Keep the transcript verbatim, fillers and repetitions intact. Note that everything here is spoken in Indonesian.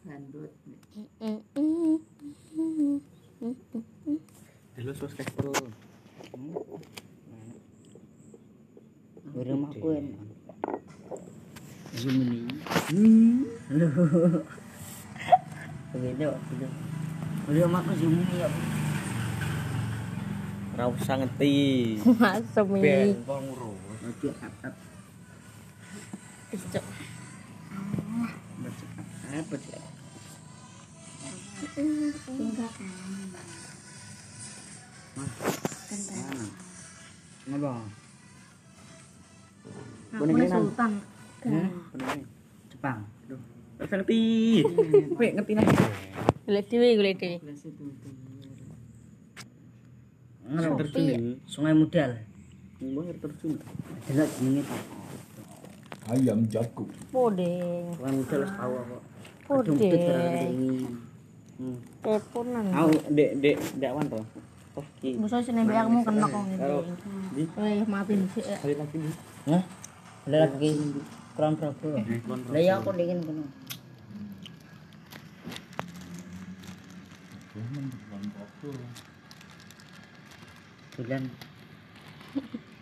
Gandut. Halo subscriber. Rumah aku enak. Zoom ini. Halo. Begitu, begitu. Rumah aku zoom ini ya. Ora usah ngerti. Masuk mi. Ben kok ngurus. Ojo up-up. Cocok. Baca apa sih? Tinggal Mana? Ngapa? aku nih sultan. Hmm? Jepang. Aduh. Ora ngerti. Kowe ngerti nih. Golek dhewe, golek dhewe. Ngono Terjun ya? Sungai Mudal. Mbah terjun. Jelas jenenge ta. Ayam jago. Podeng. Sungai Mudal wis tau apa. Podeng. Hmm. Teleponan. Aku dek dek dek wan to. Oh ki. Musuh sini biar kamu kena kok Karo ngene. di Eh, maafin sih. kali lagi di. Hah? Ada lagi kurang Prabu. Lah ya aku dingin kono. Bulan